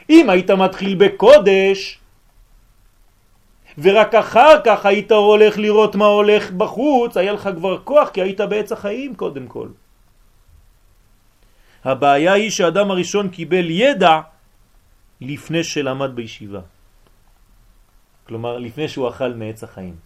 אם היית מתחיל בקודש, ורק אחר כך היית הולך לראות מה הולך בחוץ, היה לך כבר כוח, כי היית בעץ החיים קודם כל. הבעיה היא שהאדם הראשון קיבל ידע לפני שלמד בישיבה. כלומר, לפני שהוא אכל מעץ החיים.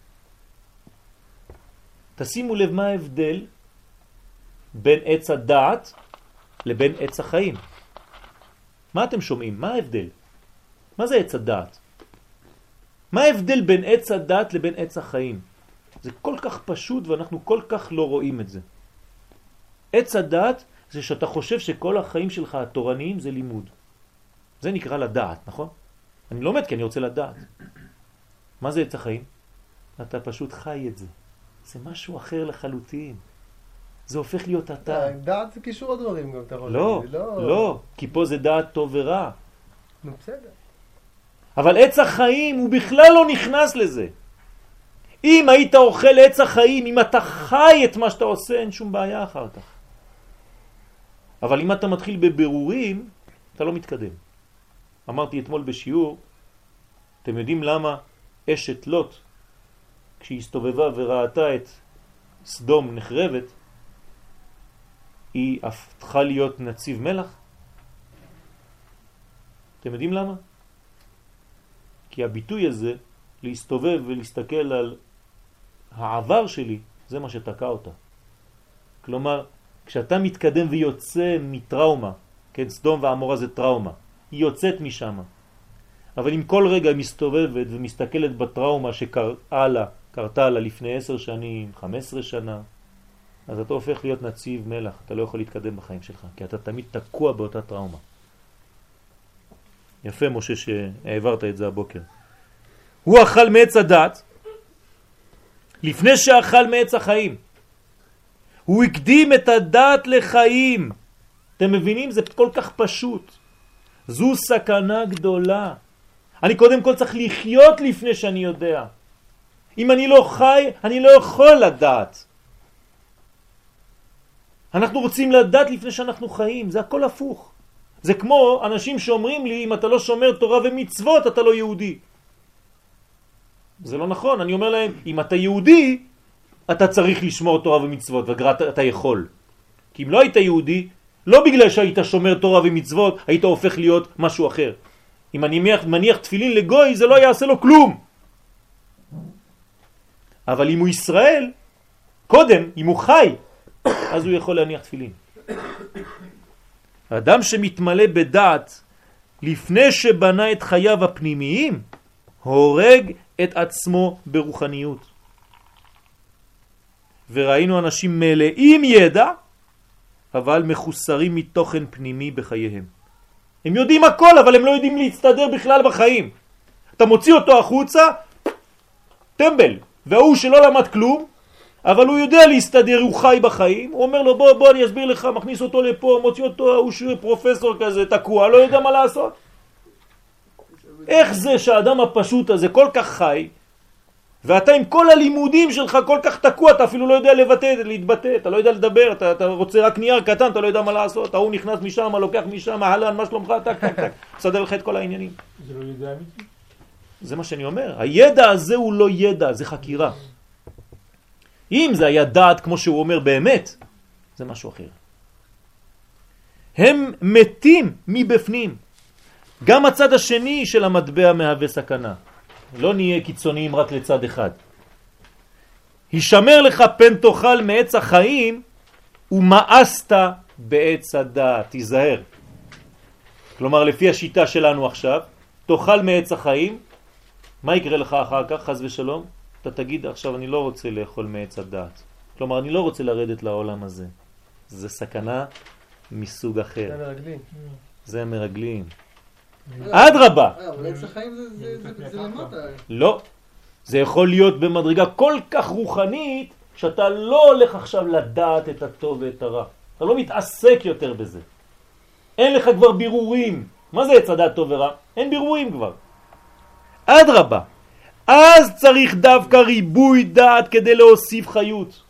תשימו לב מה ההבדל בין עץ הדעת לבין עץ החיים. מה אתם שומעים? מה ההבדל? מה זה עץ הדעת? מה ההבדל בין עץ הדעת לבין עץ החיים? זה כל כך פשוט ואנחנו כל כך לא רואים את זה. עץ הדעת זה שאתה חושב שכל החיים שלך התורניים זה לימוד. זה נקרא לדעת, נכון? אני לומד כי אני רוצה לדעת. מה זה עץ החיים? אתה פשוט חי את זה. זה משהו אחר לחלוטין. זה הופך להיות אתה. דעת זה קישור הדברים גם, אתה יכול להגיד. לא, כי פה זה דעת טוב ורע. נו, בסדר. אבל עץ החיים הוא בכלל לא נכנס לזה. אם היית אוכל עץ החיים, אם אתה חי את מה שאתה עושה, אין שום בעיה אחר כך. אבל אם אתה מתחיל בבירורים, אתה לא מתקדם. אמרתי אתמול בשיעור, אתם יודעים למה אשת לוט, כשהיא הסתובבה וראתה את סדום נחרבת, היא הפכה להיות נציב מלח? אתם יודעים למה? כי הביטוי הזה, להסתובב ולהסתכל על העבר שלי, זה מה שתקע אותה. כלומר, כשאתה מתקדם ויוצא מטראומה, כן, סדום ועמורה זה טראומה, היא יוצאת משם. אבל אם כל רגע מסתובבת ומסתכלת בטראומה שקרתה לה לפני 10 שנים, 15 שנה, אז אתה הופך להיות נציב מלח, אתה לא יכול להתקדם בחיים שלך, כי אתה תמיד תקוע באותה טראומה. יפה משה שהעברת את זה הבוקר. הוא אכל מעץ הדת לפני שאכל מעץ החיים. הוא הקדים את הדת לחיים. אתם מבינים? זה כל כך פשוט. זו סכנה גדולה. אני קודם כל צריך לחיות לפני שאני יודע. אם אני לא חי, אני לא יכול לדעת. אנחנו רוצים לדעת לפני שאנחנו חיים. זה הכל הפוך. זה כמו אנשים שאומרים לי, אם אתה לא שומר תורה ומצוות, אתה לא יהודי. זה לא נכון. אני אומר להם, אם אתה יהודי, אתה צריך לשמור תורה ומצוות, ואתה יכול. כי אם לא היית יהודי, לא בגלל שהיית שומר תורה ומצוות, היית הופך להיות משהו אחר. אם אני מניח תפילין לגוי, זה לא יעשה לו כלום. אבל אם הוא ישראל, קודם, אם הוא חי, אז הוא יכול להניח תפילין. האדם שמתמלא בדעת לפני שבנה את חייו הפנימיים, הורג את עצמו ברוחניות. וראינו אנשים מלאים ידע, אבל מחוסרים מתוכן פנימי בחייהם. הם יודעים הכל, אבל הם לא יודעים להצטדר בכלל בחיים. אתה מוציא אותו החוצה, טמבל, והוא שלא למד כלום, אבל הוא יודע להסתדר, הוא חי בחיים, הוא אומר לו בוא אני אסביר לך, מכניס אותו לפה, מוציא אותו, הוא שהוא פרופסור כזה, תקוע, לא יודע מה לעשות. איך זה שהאדם הפשוט הזה כל כך חי, ואתה עם כל הלימודים שלך כל כך תקוע, אתה אפילו לא יודע להתבטא, אתה לא יודע לדבר, אתה רוצה רק נייר קטן, אתה לא יודע מה לעשות, הוא נכנס משם, לוקח משם, הלן, מה שלומך, טק, מסדר לך את כל העניינים. זה לא ידע אמיתי? זה מה שאני אומר, הידע הזה הוא לא ידע, זה חקירה. אם זה היה דעת כמו שהוא אומר באמת, זה משהו אחר. הם מתים מבפנים. גם הצד השני של המטבע מהווה סכנה. לא נהיה קיצוניים רק לצד אחד. הישמר לך פן תאכל מעץ החיים ומאסת בעץ הדעת. תיזהר. כלומר, לפי השיטה שלנו עכשיו, תאכל מעץ החיים, מה יקרה לך אחר כך, חס ושלום? אתה תגיד עכשיו אני לא רוצה לאכול מעץ הדעת. כלומר, אני לא רוצה לרדת לעולם הזה. זה סכנה מסוג אחר. זה המרגלים. זה המרגלים. עד רבה. אבל עץ החיים זה למטה. לא. זה יכול להיות במדרגה כל כך רוחנית, שאתה לא הולך עכשיו לדעת את הטוב ואת הרע. אתה לא מתעסק יותר בזה. אין לך כבר בירורים. מה זה עץ הדעת טוב ורע? אין בירורים כבר. עד רבה. אז צריך דווקא ריבוי דעת כדי להוסיף חיות.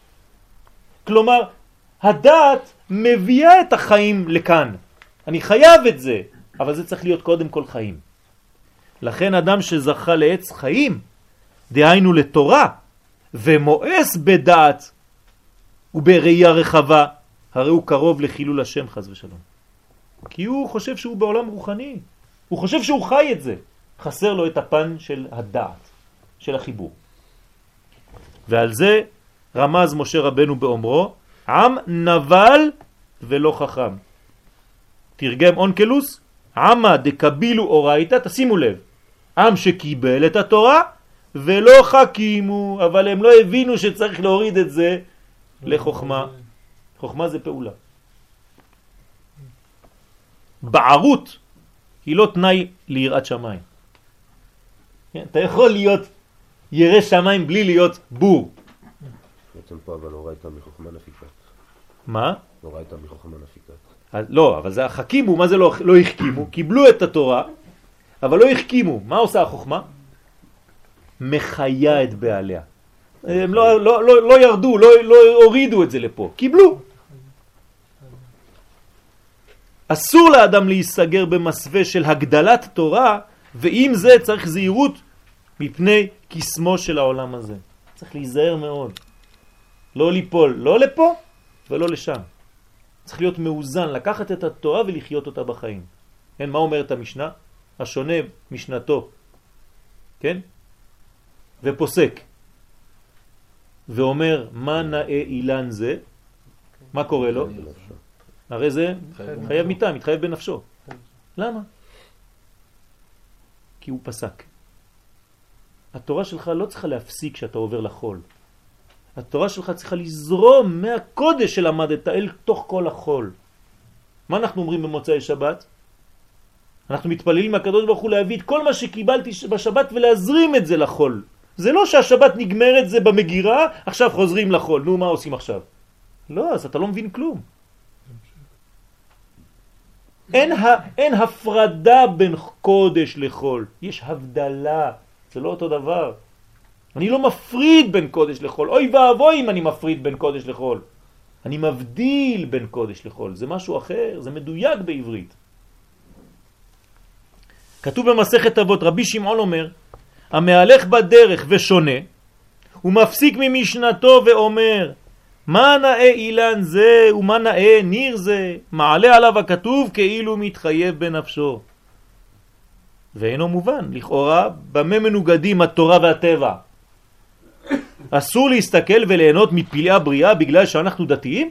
כלומר, הדעת מביאה את החיים לכאן. אני חייב את זה. אבל זה צריך להיות קודם כל חיים. לכן אדם שזכה לעץ חיים, דהיינו לתורה, ומואס בדעת ובראייה רחבה, הרי הוא קרוב לחילול השם חס ושלום. כי הוא חושב שהוא בעולם רוחני, הוא חושב שהוא חי את זה. חסר לו את הפן של הדעת, של החיבור. ועל זה רמז משה רבנו באומרו, עם נבל ולא חכם. תרגם אונקלוס, עמה דקבילו אורייתא, תשימו לב, עם שקיבל את התורה ולא חכימו, אבל הם לא הבינו שצריך להוריד את זה לחוכמה. חוכמה זה פעולה. בערות היא לא תנאי ליראת שמיים. אתה יכול להיות ירא שמיים בלי להיות בור. בעצם פה אבל לא ראית מחוכמה נפיקת. מה? לא ראית מחוכמה נפיקת. לא, אבל זה החכימו, מה זה לא החכימו? קיבלו את התורה, אבל לא החכימו. מה עושה החוכמה? מחיה את בעליה. הם לא ירדו, לא הורידו את זה לפה. קיבלו. אסור לאדם להיסגר במסווה של הגדלת תורה, ועם זה צריך זהירות מפני קסמו של העולם הזה. צריך להיזהר מאוד. לא ליפול, לא לפה ולא לשם. צריך להיות מאוזן, לקחת את התורה ולחיות אותה בחיים. כן, מה אומרת המשנה? השונה משנתו. כן? ופוסק. ואומר, מה נאה אילן זה? מה קורה לו? הרי זה חייב מיתה, מתחייב בנפשו. למה? כי הוא פסק. התורה שלך לא צריכה להפסיק כשאתה עובר לחול. התורה שלך צריכה לזרום מהקודש שלמדת אל תוך כל החול. מה אנחנו אומרים במוצאי שבת? אנחנו מתפללים מהקדוש ברוך הוא להביא את כל מה שקיבלתי בשבת ולהזרים את זה לחול. זה לא שהשבת נגמרת זה במגירה, עכשיו חוזרים לחול. נו, מה עושים עכשיו? לא, אז אתה לא מבין כלום. אין הפרדה בין קודש לחול. יש הבדלה. זה לא אותו דבר. אני לא מפריד בין קודש לחול. אוי ואבוי אם אני מפריד בין קודש לחול. אני מבדיל בין קודש לחול. זה משהו אחר, זה מדויק בעברית. כתוב במסכת אבות, רבי שמעון אומר, המהלך בדרך ושונה, הוא מפסיק ממשנתו ואומר, מה נאה אילן זה ומה נאה ניר זה, מעלה עליו הכתוב כאילו מתחייב בנפשו. ואינו מובן, לכאורה, במה מנוגדים התורה והטבע? אסור להסתכל וליהנות מפלאי הבריאה בגלל שאנחנו דתיים?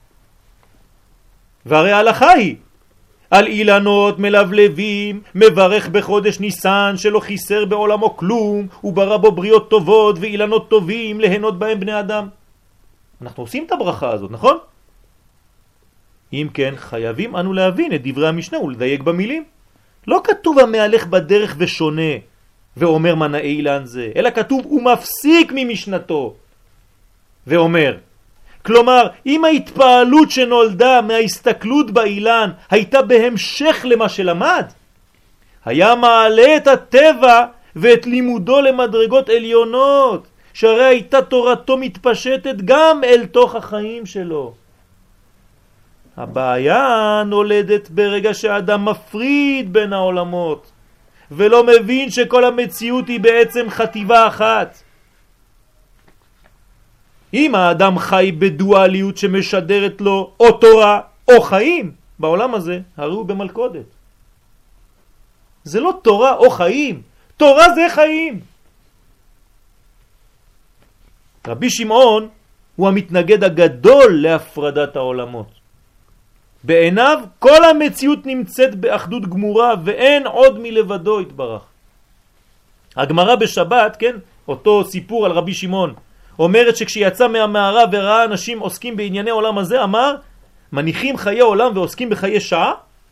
והרי ההלכה היא, על אילנות מלבלבים, מברך בחודש ניסן שלא חיסר בעולמו כלום, וברא בו בריאות טובות ואילנות טובים ליהנות בהם בני אדם. אנחנו עושים את הברכה הזאת, נכון? אם כן, חייבים אנו להבין את דברי המשנה ולדייק במילים. לא כתוב המהלך בדרך ושונה ואומר מה נאה אילן זה, אלא כתוב הוא מפסיק ממשנתו ואומר. כלומר, אם ההתפעלות שנולדה מההסתכלות באילן הייתה בהמשך למה שלמד, היה מעלה את הטבע ואת לימודו למדרגות עליונות, שהרי הייתה תורתו מתפשטת גם אל תוך החיים שלו. הבעיה נולדת ברגע שהאדם מפריד בין העולמות, ולא מבין שכל המציאות היא בעצם חטיבה אחת. אם האדם חי בדואליות שמשדרת לו או תורה או חיים בעולם הזה, הרי הוא במלכודת. זה לא תורה או חיים, תורה זה חיים. רבי שמעון הוא המתנגד הגדול להפרדת העולמות. בעיניו כל המציאות נמצאת באחדות גמורה ואין עוד מלבדו יתברך. הגמרא בשבת, כן, אותו סיפור על רבי שמעון, אומרת שכשיצא מהמערה וראה אנשים עוסקים בענייני עולם הזה, אמר, מניחים חיי עולם ועוסקים בחיי שעה?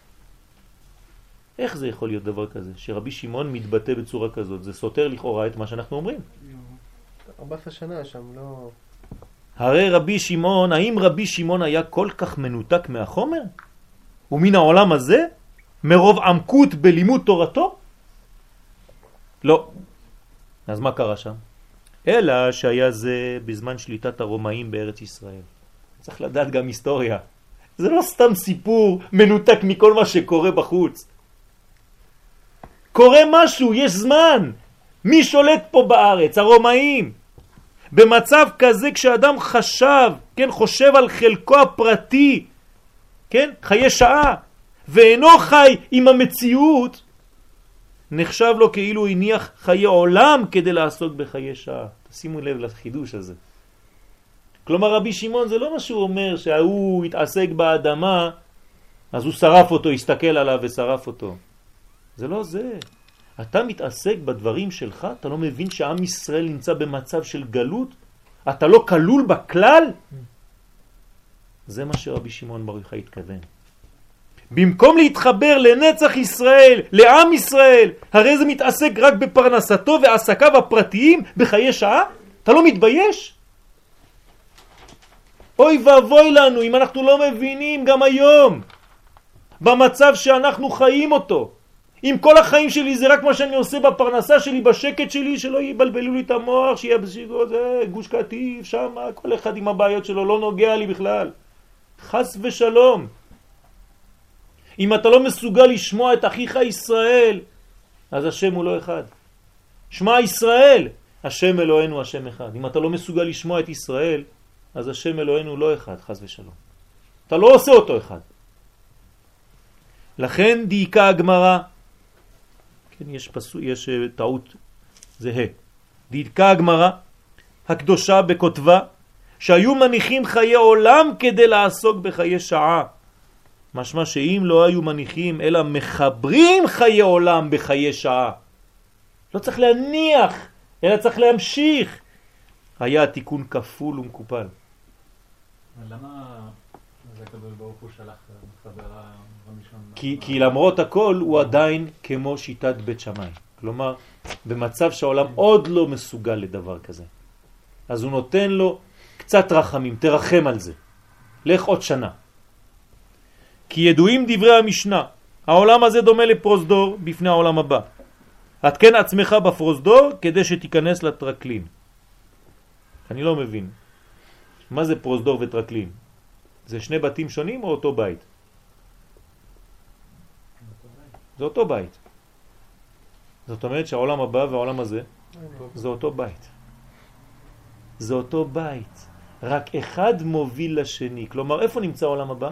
איך זה יכול להיות דבר כזה, שרבי שמעון מתבטא בצורה כזאת? זה סותר לכאורה את מה שאנחנו אומרים. 14 שנה שם, לא... הרי רבי שמעון, האם רבי שמעון היה כל כך מנותק מהחומר? ומן העולם הזה? מרוב עמקות בלימוד תורתו? לא. אז מה קרה שם? אלא שהיה זה בזמן שליטת הרומאים בארץ ישראל. צריך לדעת גם היסטוריה. זה לא סתם סיפור מנותק מכל מה שקורה בחוץ. קורה משהו, יש זמן. מי שולט פה בארץ? הרומאים. במצב כזה כשאדם חושב על חלקו הפרטי, כן? חיי שעה, ואינו חי עם המציאות, נחשב לו כאילו הניח חיי עולם כדי לעסוק בחיי שעה. תשימו לב לחידוש הזה. כלומר רבי שמעון זה לא מה שהוא אומר שהוא התעסק באדמה אז הוא שרף אותו, הסתכל עליו ושרף אותו. זה לא זה. אתה מתעסק בדברים שלך, אתה לא מבין שעם ישראל נמצא במצב של גלות? אתה לא כלול בכלל? זה מה שרבי שמעון בר יוחאי התכוון. במקום להתחבר לנצח ישראל, לעם ישראל, הרי זה מתעסק רק בפרנסתו ועסקיו הפרטיים בחיי שעה? אתה לא מתבייש? אוי ואבוי לנו אם אנחנו לא מבינים גם היום במצב שאנחנו חיים אותו. אם כל החיים שלי זה רק מה שאני עושה בפרנסה שלי, בשקט שלי, שלא יבלבלו לי את המוח, שיהיה בשיגו, זה גוש קטיף, שם, כל אחד עם הבעיות שלו, לא נוגע לי בכלל. חס ושלום. אם אתה לא מסוגל לשמוע את אחיך ישראל, אז השם הוא לא אחד. שמע ישראל, השם אלוהינו השם אחד. אם אתה לא מסוגל לשמוע את ישראל, אז השם אלוהינו לא אחד, חס ושלום. אתה לא עושה אותו אחד. לכן דייקה הגמרא, כן, יש טעות, זה דייקה הגמרא הקדושה בכותבה, שהיו מניחים חיי עולם כדי לעסוק בחיי שעה. משמע שאם לא היו מניחים אלא מחברים חיי עולם בחיי שעה. לא צריך להניח, אלא צריך להמשיך. היה תיקון כפול ומקופל. למה זה הקדוש ברוך הוא שלח מחברה ראשון? כי למרות הכל הוא עדיין כמו שיטת בית שמאי. כלומר, במצב שהעולם עוד לא מסוגל לדבר כזה. אז הוא נותן לו קצת רחמים, תרחם על זה. לך עוד שנה. כי ידועים דברי המשנה, העולם הזה דומה לפרוזדור בפני העולם הבא. התקן עצמך בפרוזדור כדי שתיכנס לטרקלין. אני לא מבין. מה זה פרוזדור וטרקלין? זה שני בתים שונים או אותו בית? זה אותו בית. זאת אומרת שהעולם הבא והעולם הזה זה אותו בית. זה אותו בית. רק אחד מוביל לשני. כלומר, איפה נמצא העולם הבא?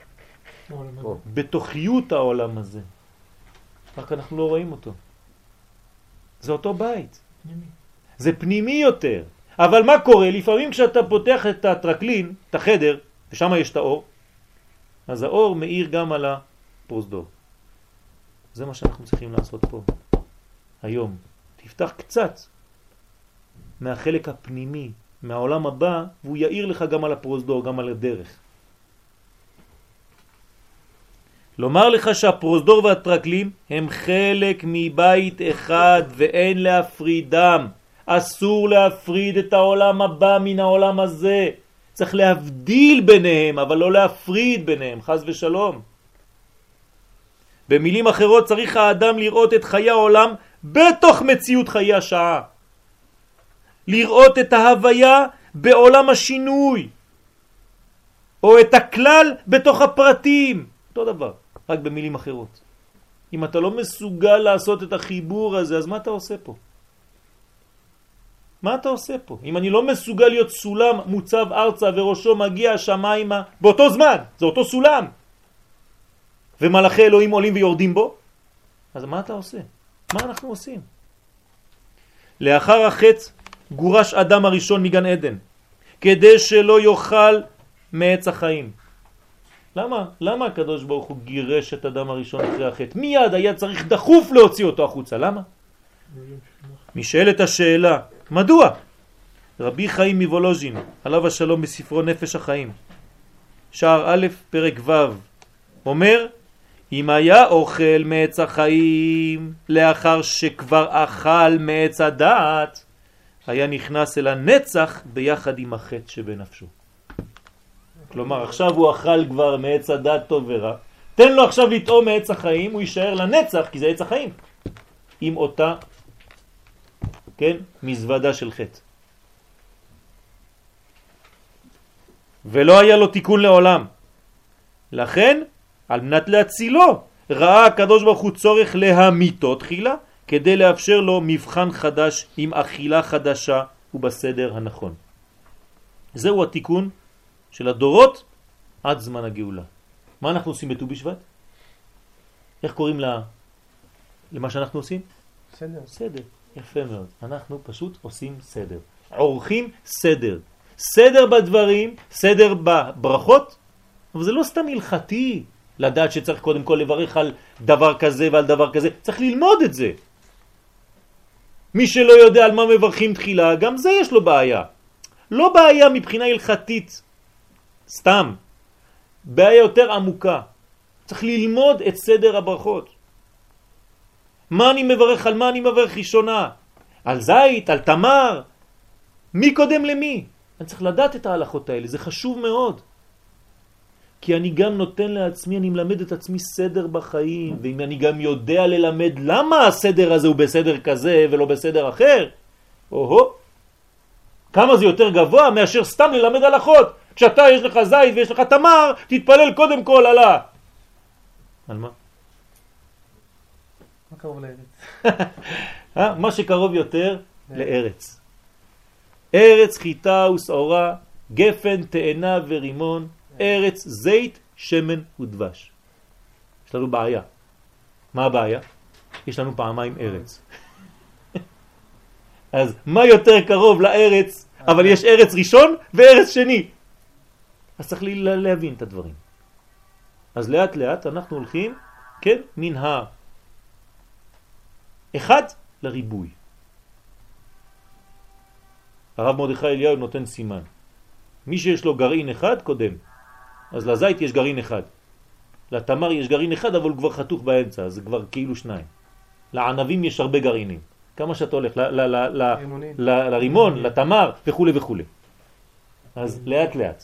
בתוכיות העולם הזה. רק אנחנו לא רואים אותו. זה אותו בית. זה פנימי יותר. אבל מה קורה? לפעמים כשאתה פותח את הטרקלין, את החדר, ושם יש את האור, אז האור מאיר גם על הפרוזדור. זה מה שאנחנו צריכים לעשות פה. היום. תפתח קצת מהחלק הפנימי, מהעולם הבא, והוא יאיר לך גם על הפרוזדור, גם על הדרך. לומר לך שהפרוזדור והטרקלין הם חלק מבית אחד ואין להפרידם. אסור להפריד את העולם הבא מן העולם הזה. צריך להבדיל ביניהם, אבל לא להפריד ביניהם, חס ושלום. במילים אחרות צריך האדם לראות את חיי העולם בתוך מציאות חיי השעה. לראות את ההוויה בעולם השינוי. או את הכלל בתוך הפרטים. אותו דבר, רק במילים אחרות. אם אתה לא מסוגל לעשות את החיבור הזה, אז מה אתה עושה פה? מה אתה עושה פה? אם אני לא מסוגל להיות סולם מוצב ארצה וראשו מגיע השמיימה באותו זמן, זה אותו סולם. ומלאכי אלוהים עולים ויורדים בו, אז מה אתה עושה? מה אנחנו עושים? לאחר החטא גורש אדם הראשון מגן עדן, כדי שלא יאכל מעץ החיים. למה הקדוש ברוך הוא גירש את אדם הראשון אחרי החטא? מיד היה צריך דחוף להוציא אותו החוצה. למה? משאלת השאלה, מדוע? רבי חיים מוולוז'ין, עליו השלום בספרו נפש החיים, שער א' פרק ו', אומר, אם היה אוכל מעץ החיים לאחר שכבר אכל מעץ הדעת, היה נכנס אל הנצח ביחד עם החטא שבנפשו. כלומר, עכשיו הוא אכל כבר מעץ הדעת טוב ורע, תן לו עכשיו לטעום מעץ החיים, הוא יישאר לנצח, כי זה עץ החיים. עם אותה, כן, מזוודה של חטא. ולא היה לו תיקון לעולם. לכן, על מנת להצילו, ראה הקדוש ברוך הוא צורך להמיתו תחילה, כדי לאפשר לו מבחן חדש עם אכילה חדשה ובסדר הנכון. זהו התיקון של הדורות עד זמן הגאולה. מה אנחנו עושים בט"ו בשבט? איך קוראים למה שאנחנו עושים? בסדר. סדר. יפה מאוד. אנחנו פשוט עושים סדר. עורכים סדר. סדר בדברים, סדר בברכות, אבל זה לא סתם הלכתי לדעת שצריך קודם כל לברך על דבר כזה ועל דבר כזה. צריך ללמוד את זה. מי שלא יודע על מה מברכים תחילה, גם זה יש לו בעיה. לא בעיה מבחינה הלכתית, סתם. בעיה יותר עמוקה. צריך ללמוד את סדר הברכות. מה אני מברך, על מה אני מברך ראשונה? על זית, על תמר? מי קודם למי? אני צריך לדעת את ההלכות האלה, זה חשוב מאוד. כי אני גם נותן לעצמי, אני מלמד את עצמי סדר בחיים, ואם אני גם יודע ללמד למה הסדר הזה הוא בסדר כזה ולא בסדר אחר, כמה זה יותר גבוה מאשר סתם ללמד הלכות. כשאתה יש לך זית ויש לך תמר, תתפלל קודם כל על מה? מה קרוב לארץ? מה שקרוב יותר לארץ. ארץ חיטה ושעורה, גפן, תאנה ורימון, ארץ זית, שמן ודבש. יש לנו בעיה. מה הבעיה? יש לנו פעמיים ארץ. אז מה יותר קרוב לארץ, אבל יש ארץ ראשון וארץ שני. אז צריך להבין את הדברים. אז לאט לאט אנחנו הולכים, כן, מן אחד לריבוי. הרב מרדכי אליהו נותן סימן. מי שיש לו גרעין אחד קודם, אז לזית יש גרעין אחד. לתמר יש גרעין אחד, אבל הוא כבר חתוך באמצע, אז זה כבר כאילו שניים. לענבים יש הרבה גרעינים. כמה שאתה הולך, לרימון, לתמר וכו' וכו'. אז לאט לאט.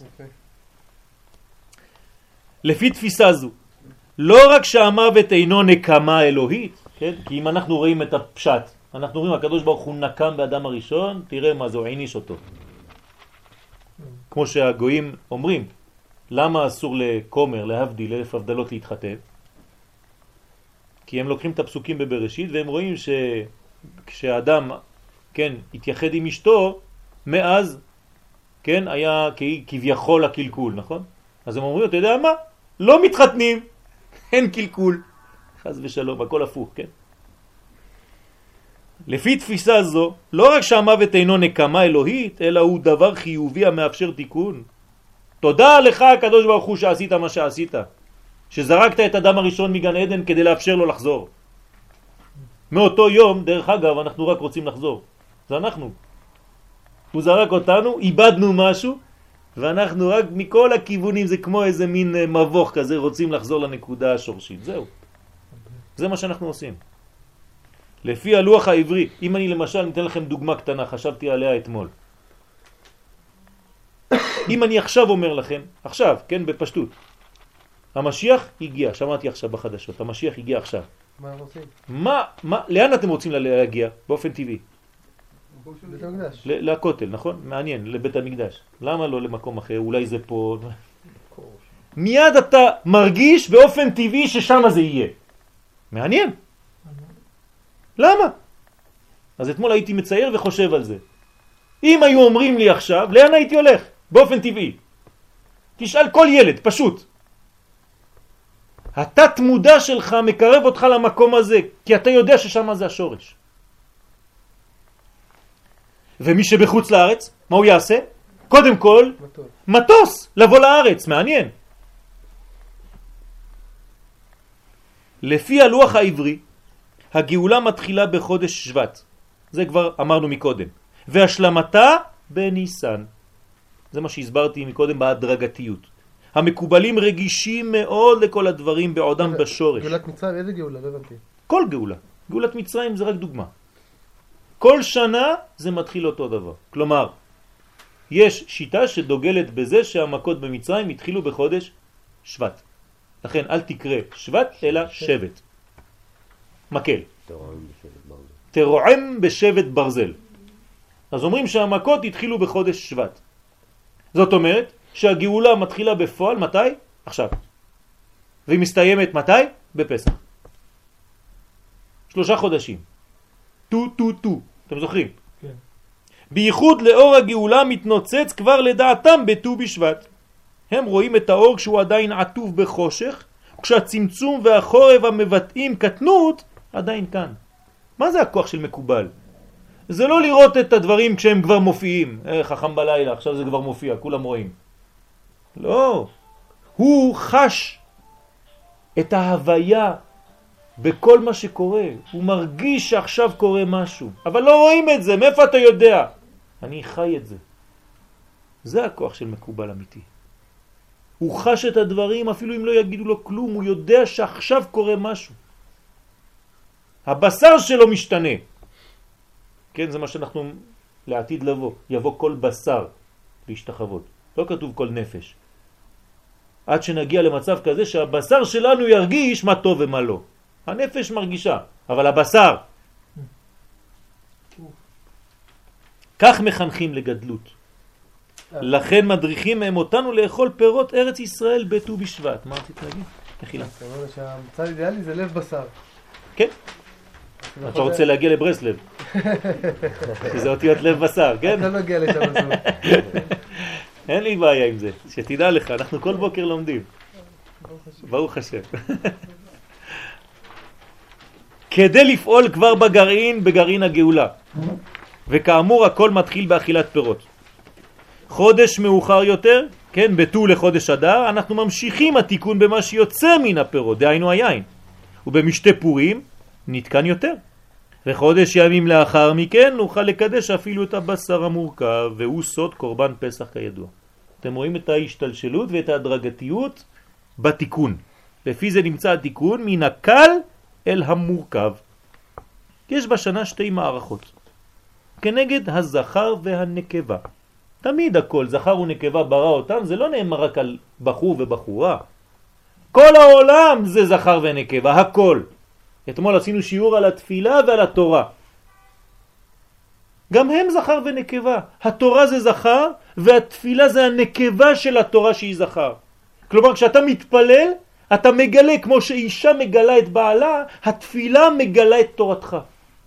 לפי תפיסה זו, לא רק שהמוות אינו נקמה אלוהית, כן? כי אם אנחנו רואים את הפשט, אנחנו רואים הקדוש ברוך הוא נקם באדם הראשון, תראה מה זה, הוא עיניש אותו. כמו שהגויים אומרים, למה אסור לקומר, להבדיל, אלף הבדלות להתחתן? כי הם לוקחים את הפסוקים בבראשית והם רואים שכשאדם, כן, התייחד עם אשתו, מאז, כן, היה כביכול הקלקול, נכון? אז הם אומרים, אתה יודע מה? לא מתחתנים, אין קלקול. חס ושלום, הכל הפוך, כן? לפי תפיסה זו, לא רק שהמוות אינו נקמה אלוהית, אלא הוא דבר חיובי המאפשר תיקון. תודה לך הקדוש ברוך הוא שעשית מה שעשית, שזרקת את אדם הראשון מגן עדן כדי לאפשר לו לחזור. מאותו יום, דרך אגב, אנחנו רק רוצים לחזור. זה אנחנו. הוא זרק אותנו, איבדנו משהו, ואנחנו רק מכל הכיוונים, זה כמו איזה מין מבוך כזה, רוצים לחזור לנקודה השורשית. זהו. זה מה שאנחנו עושים. לפי הלוח העברי, אם אני למשל ניתן לכם דוגמה קטנה, חשבתי עליה אתמול. אם אני עכשיו אומר לכם, עכשיו, כן, בפשטות, המשיח הגיע, שמעתי עכשיו בחדשות, המשיח הגיע עכשיו. מה רוצים? לאן אתם רוצים להגיע? באופן טבעי. בית המקדש. לכותל, נכון? מעניין, לבית המקדש. למה לא למקום אחר? אולי זה פה. מיד אתה מרגיש באופן טבעי ששם זה יהיה. מעניין. למה? אז אתמול הייתי מצייר וחושב על זה. אם היו אומרים לי עכשיו, לאן הייתי הולך? באופן טבעי. תשאל כל ילד, פשוט. התת מודע שלך מקרב אותך למקום הזה, כי אתה יודע ששם זה השורש. ומי שבחוץ לארץ, מה הוא יעשה? קודם כל, מטוס, לבוא לארץ, מעניין. לפי הלוח העברי, הגאולה מתחילה בחודש שבט. זה כבר אמרנו מקודם. והשלמתה בניסן. זה מה שהסברתי מקודם בהדרגתיות. המקובלים רגישים מאוד לכל הדברים בעודם בשורש. גאולת מצרים, איזה גאולה? לא הבנתי. כל גאולה. גאולת מצרים זה רק דוגמה. כל שנה זה מתחיל אותו דבר. כלומר, יש שיטה שדוגלת בזה שהמכות במצרים התחילו בחודש שבט. לכן אל תקרא שבט אלא שבט. מקל. תרועם בשבט ברזל. אז אומרים שהמכות התחילו בחודש שבט. זאת אומרת שהגאולה מתחילה בפועל מתי? עכשיו. והיא מסתיימת מתי? בפסח. 3 חודשים. טו. אתם זוכרים? כן. בייחוד לאור הגאולה מתנוצץ כבר לדעתם בט"ו בשבט. הם רואים את האור כשהוא עדיין עטוב בחושך, כשהצמצום והחורב המבטאים קטנות עדיין כאן. מה זה הכוח של מקובל? זה לא לראות את הדברים כשהם כבר מופיעים. חכם בלילה, עכשיו זה כבר מופיע, כולם רואים. לא. הוא חש את ההוויה בכל מה שקורה. הוא מרגיש שעכשיו קורה משהו. אבל לא רואים את זה. מאיפה אתה יודע? אני חי את זה. זה הכוח של מקובל אמיתי. הוא חש את הדברים אפילו אם לא יגידו לו כלום. הוא יודע שעכשיו קורה משהו. הבשר שלו משתנה. כן, זה מה שאנחנו לעתיד לבוא. יבוא כל בשר להשתחוות. לא כתוב כל נפש. עד שנגיע למצב כזה שהבשר שלנו ירגיש מה טוב ומה לא. הנפש מרגישה, אבל הבשר. כך מחנכים לגדלות. לכן מדריכים הם אותנו לאכול פירות ארץ ישראל בט"ו בשבט. מה רצית להגיד? מחילה. זאת אומרת שהמצב אידיאלי זה לב בשר. כן. אתה רוצה להגיע לברסלב. שזה אותיות לב בשר, כן? אתה לא מגיע לשם בסוף. אין לי בעיה עם זה. שתדע לך, אנחנו כל בוקר לומדים. ברוך השם. כדי לפעול כבר בגרעין הגאולה. וכאמור הכל מתחיל באכילת פירות. חודש מאוחר יותר, כן, בט"ו לחודש אדר, אנחנו ממשיכים התיקון במה שיוצא מן הפירות, דהיינו היין. ובמשתה פורים נתקן יותר. וחודש ימים לאחר מכן נוכל לקדש אפילו את הבשר המורכב, והוא סוד קורבן פסח כידוע. אתם רואים את ההשתלשלות ואת ההדרגתיות בתיקון. לפי זה נמצא התיקון מן הקל אל המורכב. יש בשנה 2 מערכות. כנגד הזכר והנקבה. תמיד הכל, זכר ונקבה ברא אותם, זה לא נאמר רק על בחור ובחורה. כל העולם זה זכר ונקבה, הכל. אתמול עשינו שיעור על התפילה ועל התורה. גם הם זכר ונקבה. התורה זה זכר והתפילה זה הנקבה של התורה שהיא זכר. כלומר כשאתה מתפלל, אתה מגלה כמו שאישה מגלה את בעלה, התפילה מגלה את תורתך.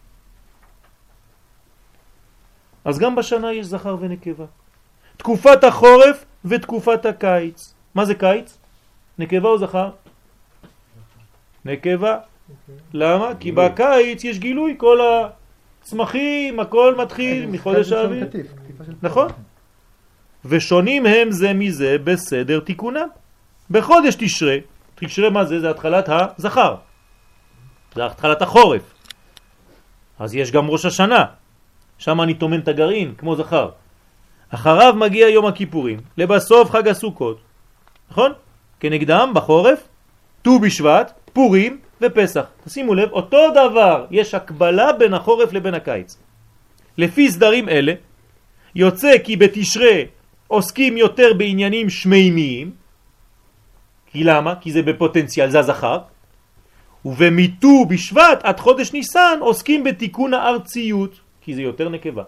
אז גם בשנה יש זכר ונקבה. תקופת החורף ותקופת הקיץ. מה זה קיץ? נקבה או זכר? נקבה. למה? כי בקיץ יש גילוי, כל הצמחים, הכל מתחיל מחודש האביב. נכון? ושונים הם זה מזה בסדר תיקונם. בחודש תשרה מה זה? זה התחלת הזכר. זה התחלת החורף. אז יש גם ראש השנה. שם אני תומן את הגרעין, כמו זכר. אחריו מגיע יום הכיפורים, לבסוף חג הסוכות. נכון? כנגדם בחורף, ט"ו בשבט, פורים ופסח. תשימו לב, אותו דבר, יש הקבלה בין החורף לבין הקיץ. לפי סדרים אלה, יוצא כי בתשרה עוסקים יותר בעניינים שמימיים. כי למה? כי זה בפוטנציאל, זה הזכר. ובמיט"ו בשבט עד חודש ניסן עוסקים בתיקון הארציות, כי זה יותר נקבה.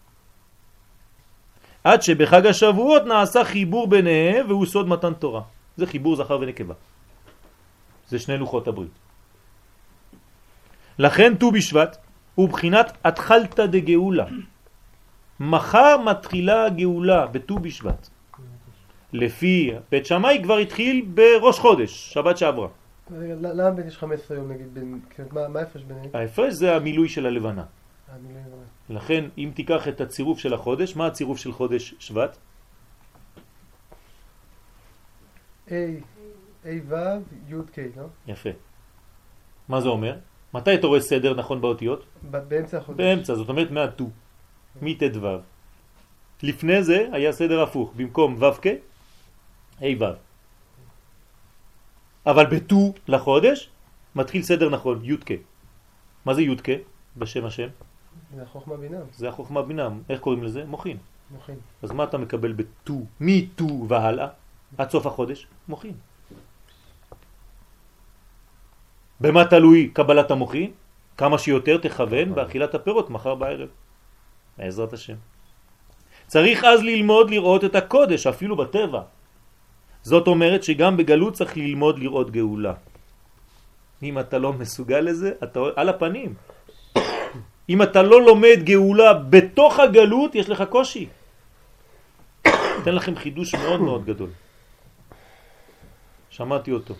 עד שבחג השבועות נעשה חיבור ביניהם והוא סוד מתן תורה. זה חיבור זכר ונקבה. זה 2 לוחות הברית. לכן ט"ו בשבט הוא בחינת התחלת דגאולה. מחר מתחילה הגאולה בט"ו בשבט. לפי בית שמאי כבר התחיל בראש חודש, שבת שעברה. למה בין יש 15 יום נגיד? מה ההפרש ביניהם? ההפרש זה המילוי של הלבנה. לכן אם תיקח את הצירוף של החודש, מה הצירוף של חודש שבט? A, ו', י', ק', לא? יפה. מה זה אומר? מתי אתה רואה סדר נכון באותיות? באמצע החודש. באמצע, זאת אומרת מהט"ו, מט"ו. לפני זה היה סדר הפוך, במקום ו' ק', A ו'. אבל בט"ו לחודש מתחיל סדר נכון, י' ק'. מה זה י' ק' בשם השם? זה החוכמה בינה. זה החוכמה בינה. איך קוראים לזה? מוחין. מוחין. אז מה אתה מקבל בט"ו, מט"ו והלאה, עד סוף החודש? מוחין. במה תלוי קבלת המוחין? כמה שיותר תכוון באכילת הפירות מחר בערב. בעזרת השם. צריך אז ללמוד לראות את הקודש, אפילו בטבע. זאת אומרת שגם בגלות צריך ללמוד לראות גאולה. אם אתה לא מסוגל לזה, אתה על הפנים. אם אתה לא לומד גאולה בתוך הגלות, יש לך קושי. אתן לכם חידוש מאוד מאוד גדול. שמעתי אותו.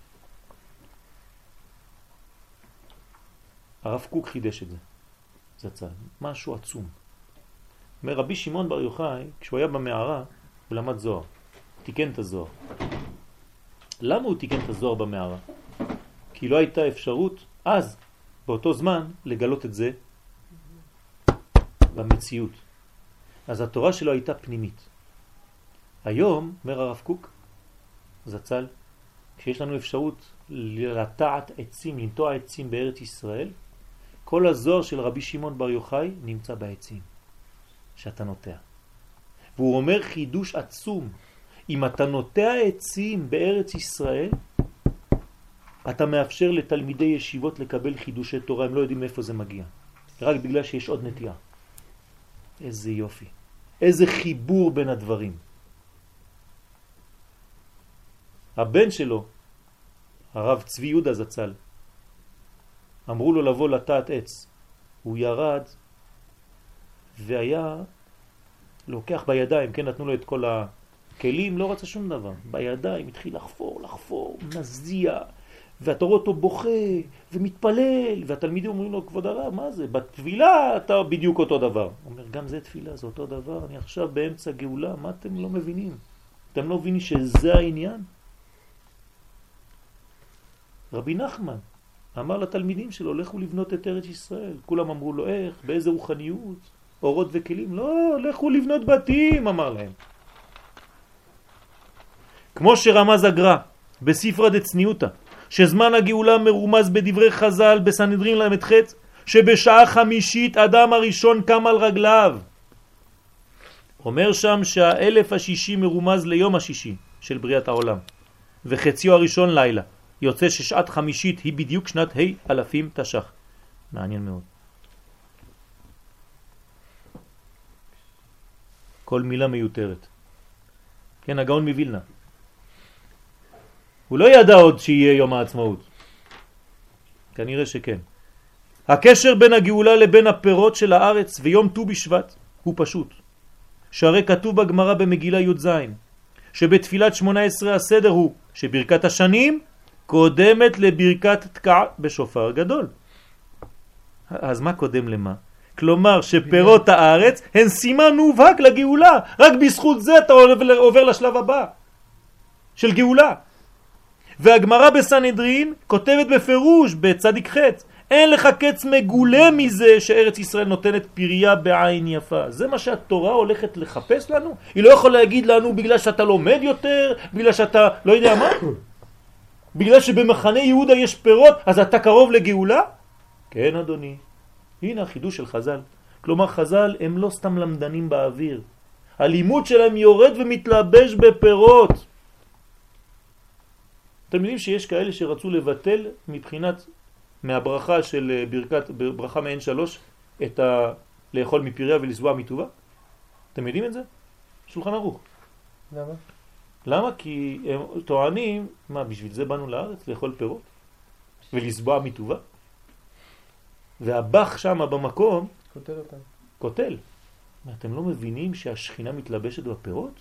הרב קוק חידש את זה. זצ"ל. משהו עצום. אומר רבי שמעון בר יוחאי, כשהוא היה במערה, הוא למד זוהר. תיקן את הזוהר. למה הוא תיקן את הזוהר במערה? כי לא הייתה אפשרות אז, באותו זמן, לגלות את זה במציאות. אז התורה שלו הייתה פנימית. היום, אומר הרב קוק, זצ"ל, כשיש לנו אפשרות לטעת עצים, לנטוע עצים בארץ ישראל, כל הזוהר של רבי שמעון בר יוחאי נמצא בעצים שאתה נוטע. והוא אומר חידוש עצום. אם אתה נוטע עצים בארץ ישראל, אתה מאפשר לתלמידי ישיבות לקבל חידושי תורה, הם לא יודעים מאיפה זה מגיע. רק בגלל שיש עוד נטייה. איזה יופי. איזה חיבור בין הדברים. הבן שלו, הרב צבי יהודה זצ"ל, אמרו לו לבוא לטעת עץ. הוא ירד והיה לוקח בידיים, כן, נתנו לו את כל הכלים, לא רצה שום דבר. בידיים התחיל לחפור, מזיע, ואתה רואה אותו בוכה ומתפלל, והתלמידים אומרים לו, כבוד הרב, מה זה? בתפילה אתה בדיוק אותו דבר. הוא אומר, גם זה תפילה, זה אותו דבר, אני עכשיו באמצע גאולה, מה אתם לא מבינים? אתם לא מבינים שזה העניין? רבי נחמן אמר לתלמידים שלו, לכו לבנות את ארץ ישראל. כולם אמרו לו, איך? באיזה רוחניות? אורות וכלים? לא, לכו לבנות בתים, אמר להם. כמו שרמז הגר"א בספרא דצניעותא, שזמן הגאולה מרומז בדברי חז"ל בסנהדרין ל"ח, שבשעה חמישית אדם הראשון קם על רגליו. אומר שם שהאלף השישי מרומז ליום השישי של בריאת העולם, וחציו הראשון לילה. יוצא ששעת חמישית היא בדיוק שנת אלפים תש"ח. מעניין מאוד. כל מילה מיותרת. כן, הגאון מבילנה. הוא לא ידע עוד שיהיה יום העצמאות. כנראה שכן. הקשר בין הגאולה לבין הפירות של הארץ ויום ט"ו בשבט הוא פשוט. שהרי כתוב בגמרא במגילה י"ז, שבתפילת 18 הסדר הוא שברכת השנים קודמת לברכת תקע בשופר גדול. אז מה קודם למה? כלומר שפירות הארץ הן סימן מובהק לגאולה. רק בזכות זה אתה עובר לשלב הבא של גאולה. והגמרא בסנהדרין כותבת בפירוש בצדיק ח', אין לך קץ מגולה מזה שארץ ישראל נותנת פריה בעין יפה. זה מה שהתורה הולכת לחפש לנו? היא לא יכולה להגיד לנו בגלל שאתה לומד יותר, בגלל שאתה לא יודע מה? בגלל שבמחנה יהודה יש פירות, אז אתה קרוב לגאולה? כן, אדוני. הנה החידוש של חז"ל. כלומר, חז"ל הם לא סתם למדנים באוויר. הלימוד שלהם יורד ומתלבש בפירות. אתם יודעים שיש כאלה שרצו לבטל מבחינת, מהברכה של ברכה מעין 3, את לאכול מפריה ולסבוע מטובה? אתם יודעים את זה? שולחן ערוך. למה? למה? כי הם טוענים, מה, בשביל זה באנו לארץ, לאכול פירות ולסבוע מטובה? והבח שם במקום כותל אותם. כותל. אתם לא מבינים שהשכינה מתלבשת בפירות?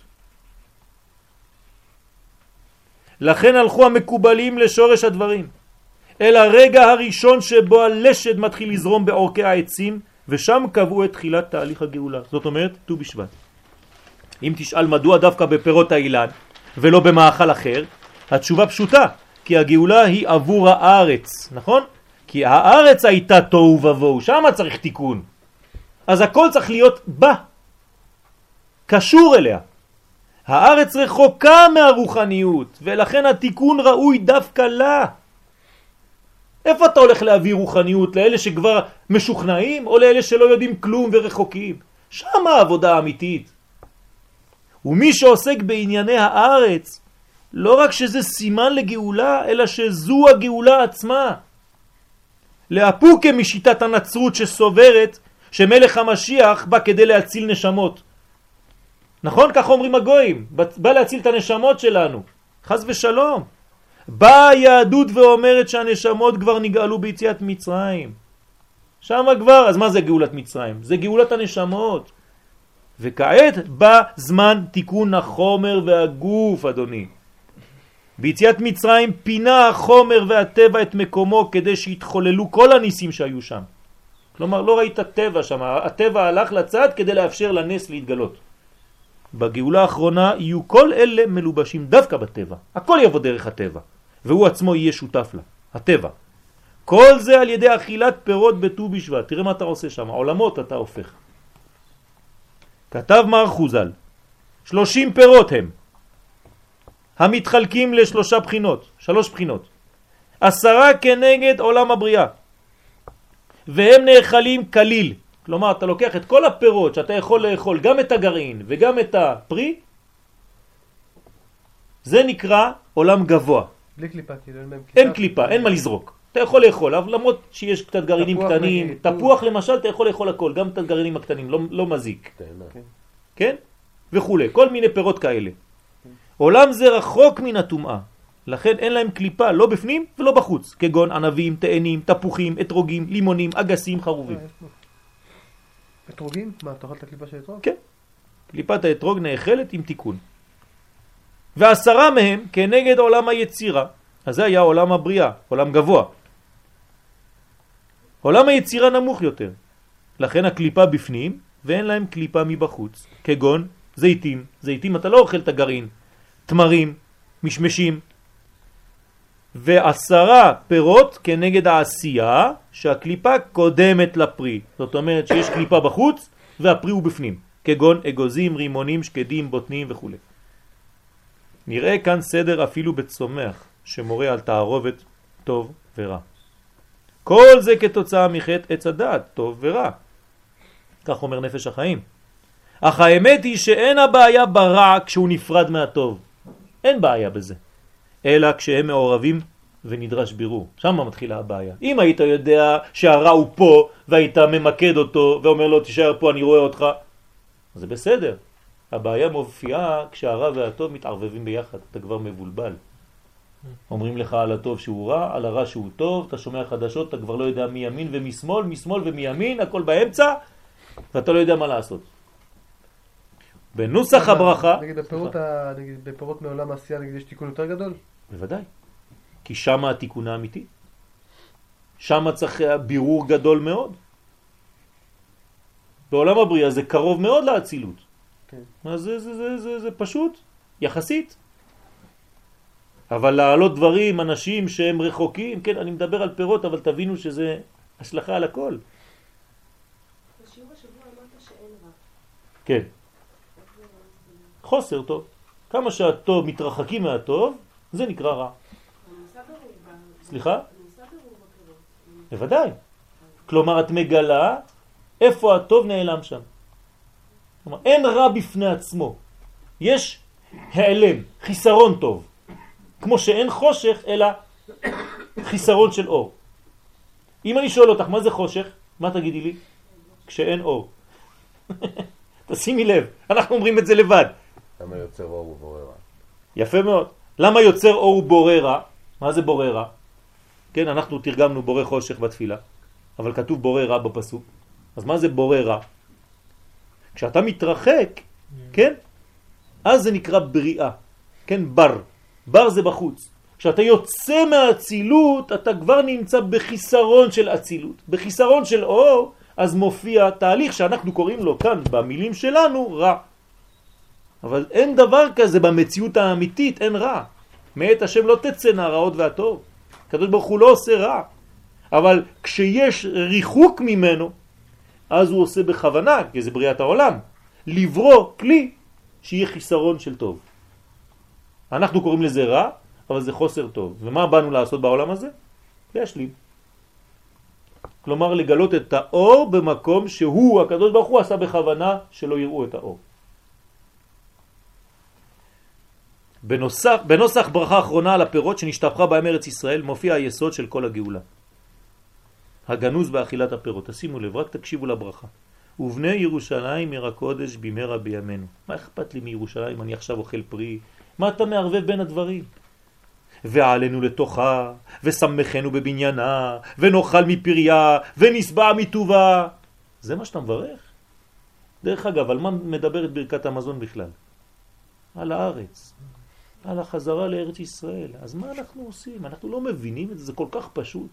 לכן הלכו המקובלים לשורש הדברים, אל הרגע הראשון שבו הלשד מתחיל לזרום בעורקי העצים, ושם קבעו את תחילת תהליך הגאולה. זאת אומרת, ט"ו בשבט. אם תשאל מדוע דווקא בפירות האילן ולא במאכל אחר, התשובה פשוטה, כי הגאולה היא עבור הארץ, נכון? כי הארץ הייתה תוהו ובוהו, שם צריך תיקון. אז הכל צריך להיות בה, קשור אליה. הארץ רחוקה מהרוחניות, ולכן התיקון ראוי דווקא לה. איפה אתה הולך להביא רוחניות? לאלה שכבר משוכנעים, או לאלה שלא יודעים כלום ורחוקים? שם העבודה האמיתית. ומי שעוסק בענייני הארץ, לא רק שזה סימן לגאולה, אלא שזו הגאולה עצמה. לאפוקה משיטת הנצרות שסוברת שמלך המשיח בא כדי להציל נשמות. נכון? כך אומרים הגויים, בא להציל את הנשמות שלנו. חס ושלום. באה היהדות ואומרת שהנשמות כבר נגאלו ביציאת מצרים. שם כבר, אז מה זה גאולת מצרים? זה גאולת הנשמות. וכעת בא זמן תיקון החומר והגוף, אדוני. ביציאת מצרים פינה החומר והטבע את מקומו כדי שיתחוללו כל הניסים שהיו שם. כלומר, לא ראית טבע שם, הטבע הלך לצד כדי לאפשר לנס להתגלות. בגאולה האחרונה יהיו כל אלה מלובשים דווקא בטבע. הכל יבוא דרך הטבע, והוא עצמו יהיה שותף לה, הטבע. כל זה על ידי אכילת פירות בט"ו בשבט. תראה מה אתה עושה שם, עולמות אתה הופך. כתב מר חוזל, 30 פירות הם, המתחלקים ל3 בחינות, 3 בחינות. 10 כנגד עולם הבריאה, והם נאכלים כליל. כלומר, אתה לוקח את כל הפירות שאתה יכול לאכול, גם את הגרעין וגם את הפרי, זה נקרא עולם גבוה. בלי קליפה, כאילו אין קליפה, אין מה לזרוק. אתה יכול לאכול, למרות שיש קצת גרעינים קטנים, תפוח למשל, אתה יכול לאכול הכל, גם את הגרעינים הקטנים, לא מזיק. כן? וכו', כל מיני פירות כאלה. עולם זה רחוק מן הטומאה, לכן אין להם קליפה, לא בפנים ולא בחוץ, כגון ענבים, תאנים, תפוחים, אתרוגים, לימונים, אגסים, חרובים. אתרוגים? מה, אתה אוכל את הקליפה של אתרוג? כן. קליפת האתרוג נאכלת עם תיקון. ו10 מהם כנגד עולם היצירה. אז זה היה עולם הבריאה, עולם גבוה. עולם היצירה נמוך יותר. לכן הקליפה בפנים ואין להם קליפה מבחוץ. כגון זיתים. זיתים אתה לא אוכל את הגרעין. תמרים, משמשים. ו10 פירות כנגד העשייה שהקליפה קודמת לפרי. זאת אומרת שיש קליפה בחוץ והפרי הוא בפנים. כגון אגוזים, רימונים, שקדים, בוטנים וכו'. נראה כאן סדר אפילו בצומח שמורה על תערובת טוב ורע. כל זה כתוצאה מחטא עץ הדעת, טוב ורע. כך אומר נפש החיים. אך האמת היא שאין הבעיה ברע כשהוא נפרד מהטוב. אין בעיה בזה. אלא כשהם מעורבים ונדרש בירור. שם מתחילה הבעיה. אם היית יודע שהרע הוא פה והיית ממקד אותו ואומר לו תישאר פה אני רואה אותך, זה בסדר. הבעיה מופיעה כשהרע והטוב מתערבבים ביחד. אתה כבר מבולבל. אומרים לך על הטוב שהוא רע, על הרע שהוא טוב, אתה שומע חדשות, אתה כבר לא יודע מי ימין ומשמאל, משמאל ומימין, הכל באמצע, ואתה לא יודע מה לעשות. בנוסח הברכה... נגיד בפירות מעולם העשייה, נגיד יש תיקון יותר גדול? בוודאי. כי שם התיקון האמיתי. שם צריך בירור גדול מאוד. בעולם הבריאה זה קרוב מאוד להצילות. כן. אז זה פשוט, יחסית. אבל להעלות דברים, אנשים שהם רחוקים, כן, אני מדבר על פירות, אבל תבינו שזה השלכה על הכל. בשיעור השבוע אמרת שאין רע. כן. חוסר טוב. כמה שהטוב מתרחקים מהטוב, זה נקרא רע. סליחה? בוודאי. כלומר, את מגלה איפה הטוב נעלם שם. כלומר, אין רע בפני עצמו. יש העלם, חיסרון טוב. כמו שאין חושך, אלא חיסרון של אור. אם אני שואל אותך, מה זה חושך? מה תגידי לי? כשאין אור. תשימי לב, אנחנו אומרים את זה לבד. למה יוצר אור ובורא רע? יפה מאוד. למה יוצר אור ובורא רע? מה זה בורא רע? כן, אנחנו תרגמנו בורא חושך בתפילה, אבל כתוב בורא רע בפסוק. אז מה זה בורא רע? כשאתה מתרחק, כן? אז זה נקרא בריאה. כן, בר. בר זה בחוץ. כשאתה יוצא מהאצילות, אתה כבר נמצא בחיסרון של אצילות. בחיסרון של אור, אז מופיע תהליך שאנחנו קוראים לו כאן במילים שלנו רע. אבל אין דבר כזה במציאות האמיתית, אין רע. מאת השם לא תצאנה הרעות והטוב. הקדוש ברוך הוא לא עושה רע. אבל כשיש ריחוק ממנו, אז הוא עושה בכוונה, כי זה בריאת העולם, לברוא כלי שיהיה חיסרון של טוב. אנחנו קוראים לזה רע, אבל זה חוסר טוב. ומה באנו לעשות בעולם הזה? להשלים. כלומר, לגלות את האור במקום שהוא, הקדוש ברוך הוא, עשה בכוונה שלא יראו את האור. בנוסח ברכה האחרונה על הפירות שנשתפכה בהם ארץ ישראל, מופיע היסוד של כל הגאולה. הגנוז באכילת הפירות. תשימו לב, רק תקשיבו לברכה. ובני ירושלים עיר הקודש במהרה בימינו. מה אכפת לי מירושלים? אני עכשיו אוכל פרי. מה אתה מערבב בין הדברים? ועלינו לתוכה, ושמחנו בבניינה, ונאכל מפריה, ונסבע מטובה. זה מה שאתה מברך? דרך אגב, על מה מדברת ברכת המזון בכלל? על הארץ, על החזרה לארץ ישראל. אז מה אנחנו עושים? אנחנו לא מבינים את זה, זה כל כך פשוט.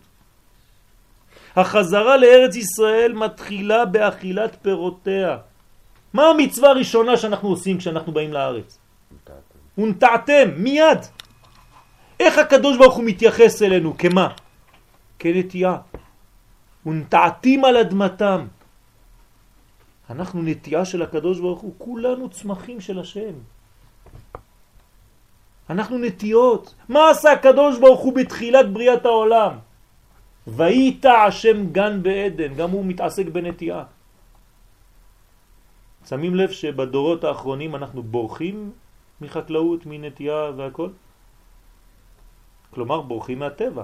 החזרה לארץ ישראל מתחילה באכילת פירותיה. מה המצווה הראשונה שאנחנו עושים כשאנחנו באים לארץ? ונטעתם, מיד. איך הקדוש ברוך הוא מתייחס אלינו? כמה? כנטייה. ונטעתים על אדמתם. אנחנו נטייה של הקדוש ברוך הוא, כולנו צמחים של השם. אנחנו נטיות. מה עשה הקדוש ברוך הוא בתחילת בריאת העולם? ויטע השם גן בעדן, גם הוא מתעסק בנטייה. שמים לב שבדורות האחרונים אנחנו בורחים מחקלאות, מנטייה והכל? כלומר בורחים מהטבע.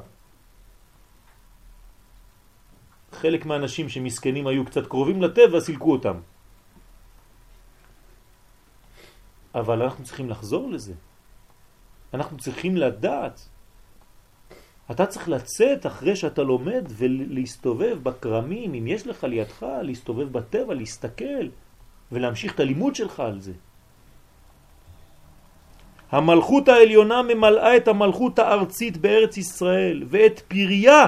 חלק מהאנשים שמסכנים היו קצת קרובים לטבע, סילקו אותם. אבל אנחנו צריכים לחזור לזה. אנחנו צריכים לדעת. אתה צריך לצאת אחרי שאתה לומד ולהסתובב בקרמים, אם יש לך לידך, להסתובב בטבע, להסתכל ולהמשיך את הלימוד שלך על זה. המלכות העליונה ממלאה את המלכות הארצית בארץ ישראל ואת פריה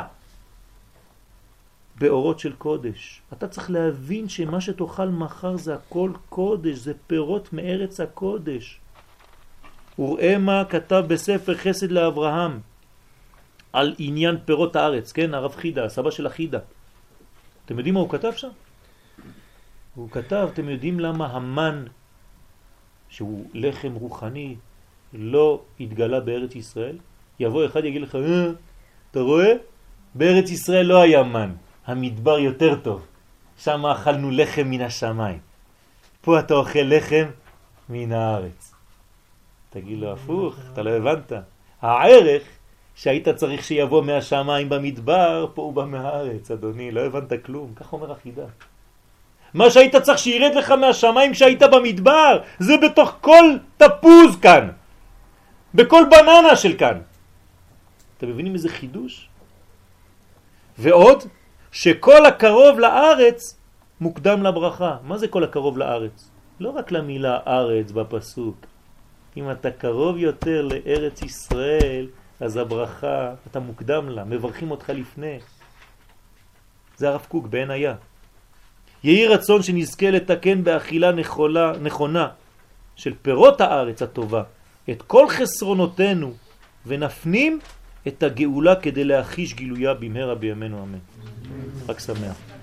באורות של קודש. אתה צריך להבין שמה שתאכל מחר זה הכל קודש, זה פירות מארץ הקודש. וראה מה כתב בספר חסד לאברהם על עניין פירות הארץ, כן? הרב חידה, הסבא של החידה. אתם יודעים מה הוא כתב שם? הוא כתב, אתם יודעים למה המן, שהוא לחם רוחני, לא התגלה בארץ ישראל? יבוא אחד יגיד לך, אתה רואה? בארץ ישראל לא היה מן, המדבר יותר טוב. שם אכלנו לחם מן השמיים. פה אתה אוכל לחם מן הארץ. תגיד לו, הפוך, אתה לא הבנת. הערך שהיית צריך שיבוא מהשמיים במדבר, פה הוא בא מהארץ, אדוני, לא הבנת כלום. כך אומר החידה. מה שהיית צריך שירד לך מהשמיים כשהיית במדבר, זה בתוך כל תפוז כאן. בכל בננה של כאן. אתם מבינים איזה חידוש? ועוד, שכל הקרוב לארץ מוקדם לברכה. מה זה כל הקרוב לארץ? לא רק למילה ארץ בפסוק. אם אתה קרוב יותר לארץ ישראל, אז הברכה, אתה מוקדם לה, מברכים אותך לפני. זה הרב קוק בעין היה. יהי רצון שנזכה לתקן באכילה נכונה של פירות הארץ הטובה, את כל חסרונותינו, ונפנים את הגאולה כדי להחיש גילויה במהרה בימינו אמן. רק שמח.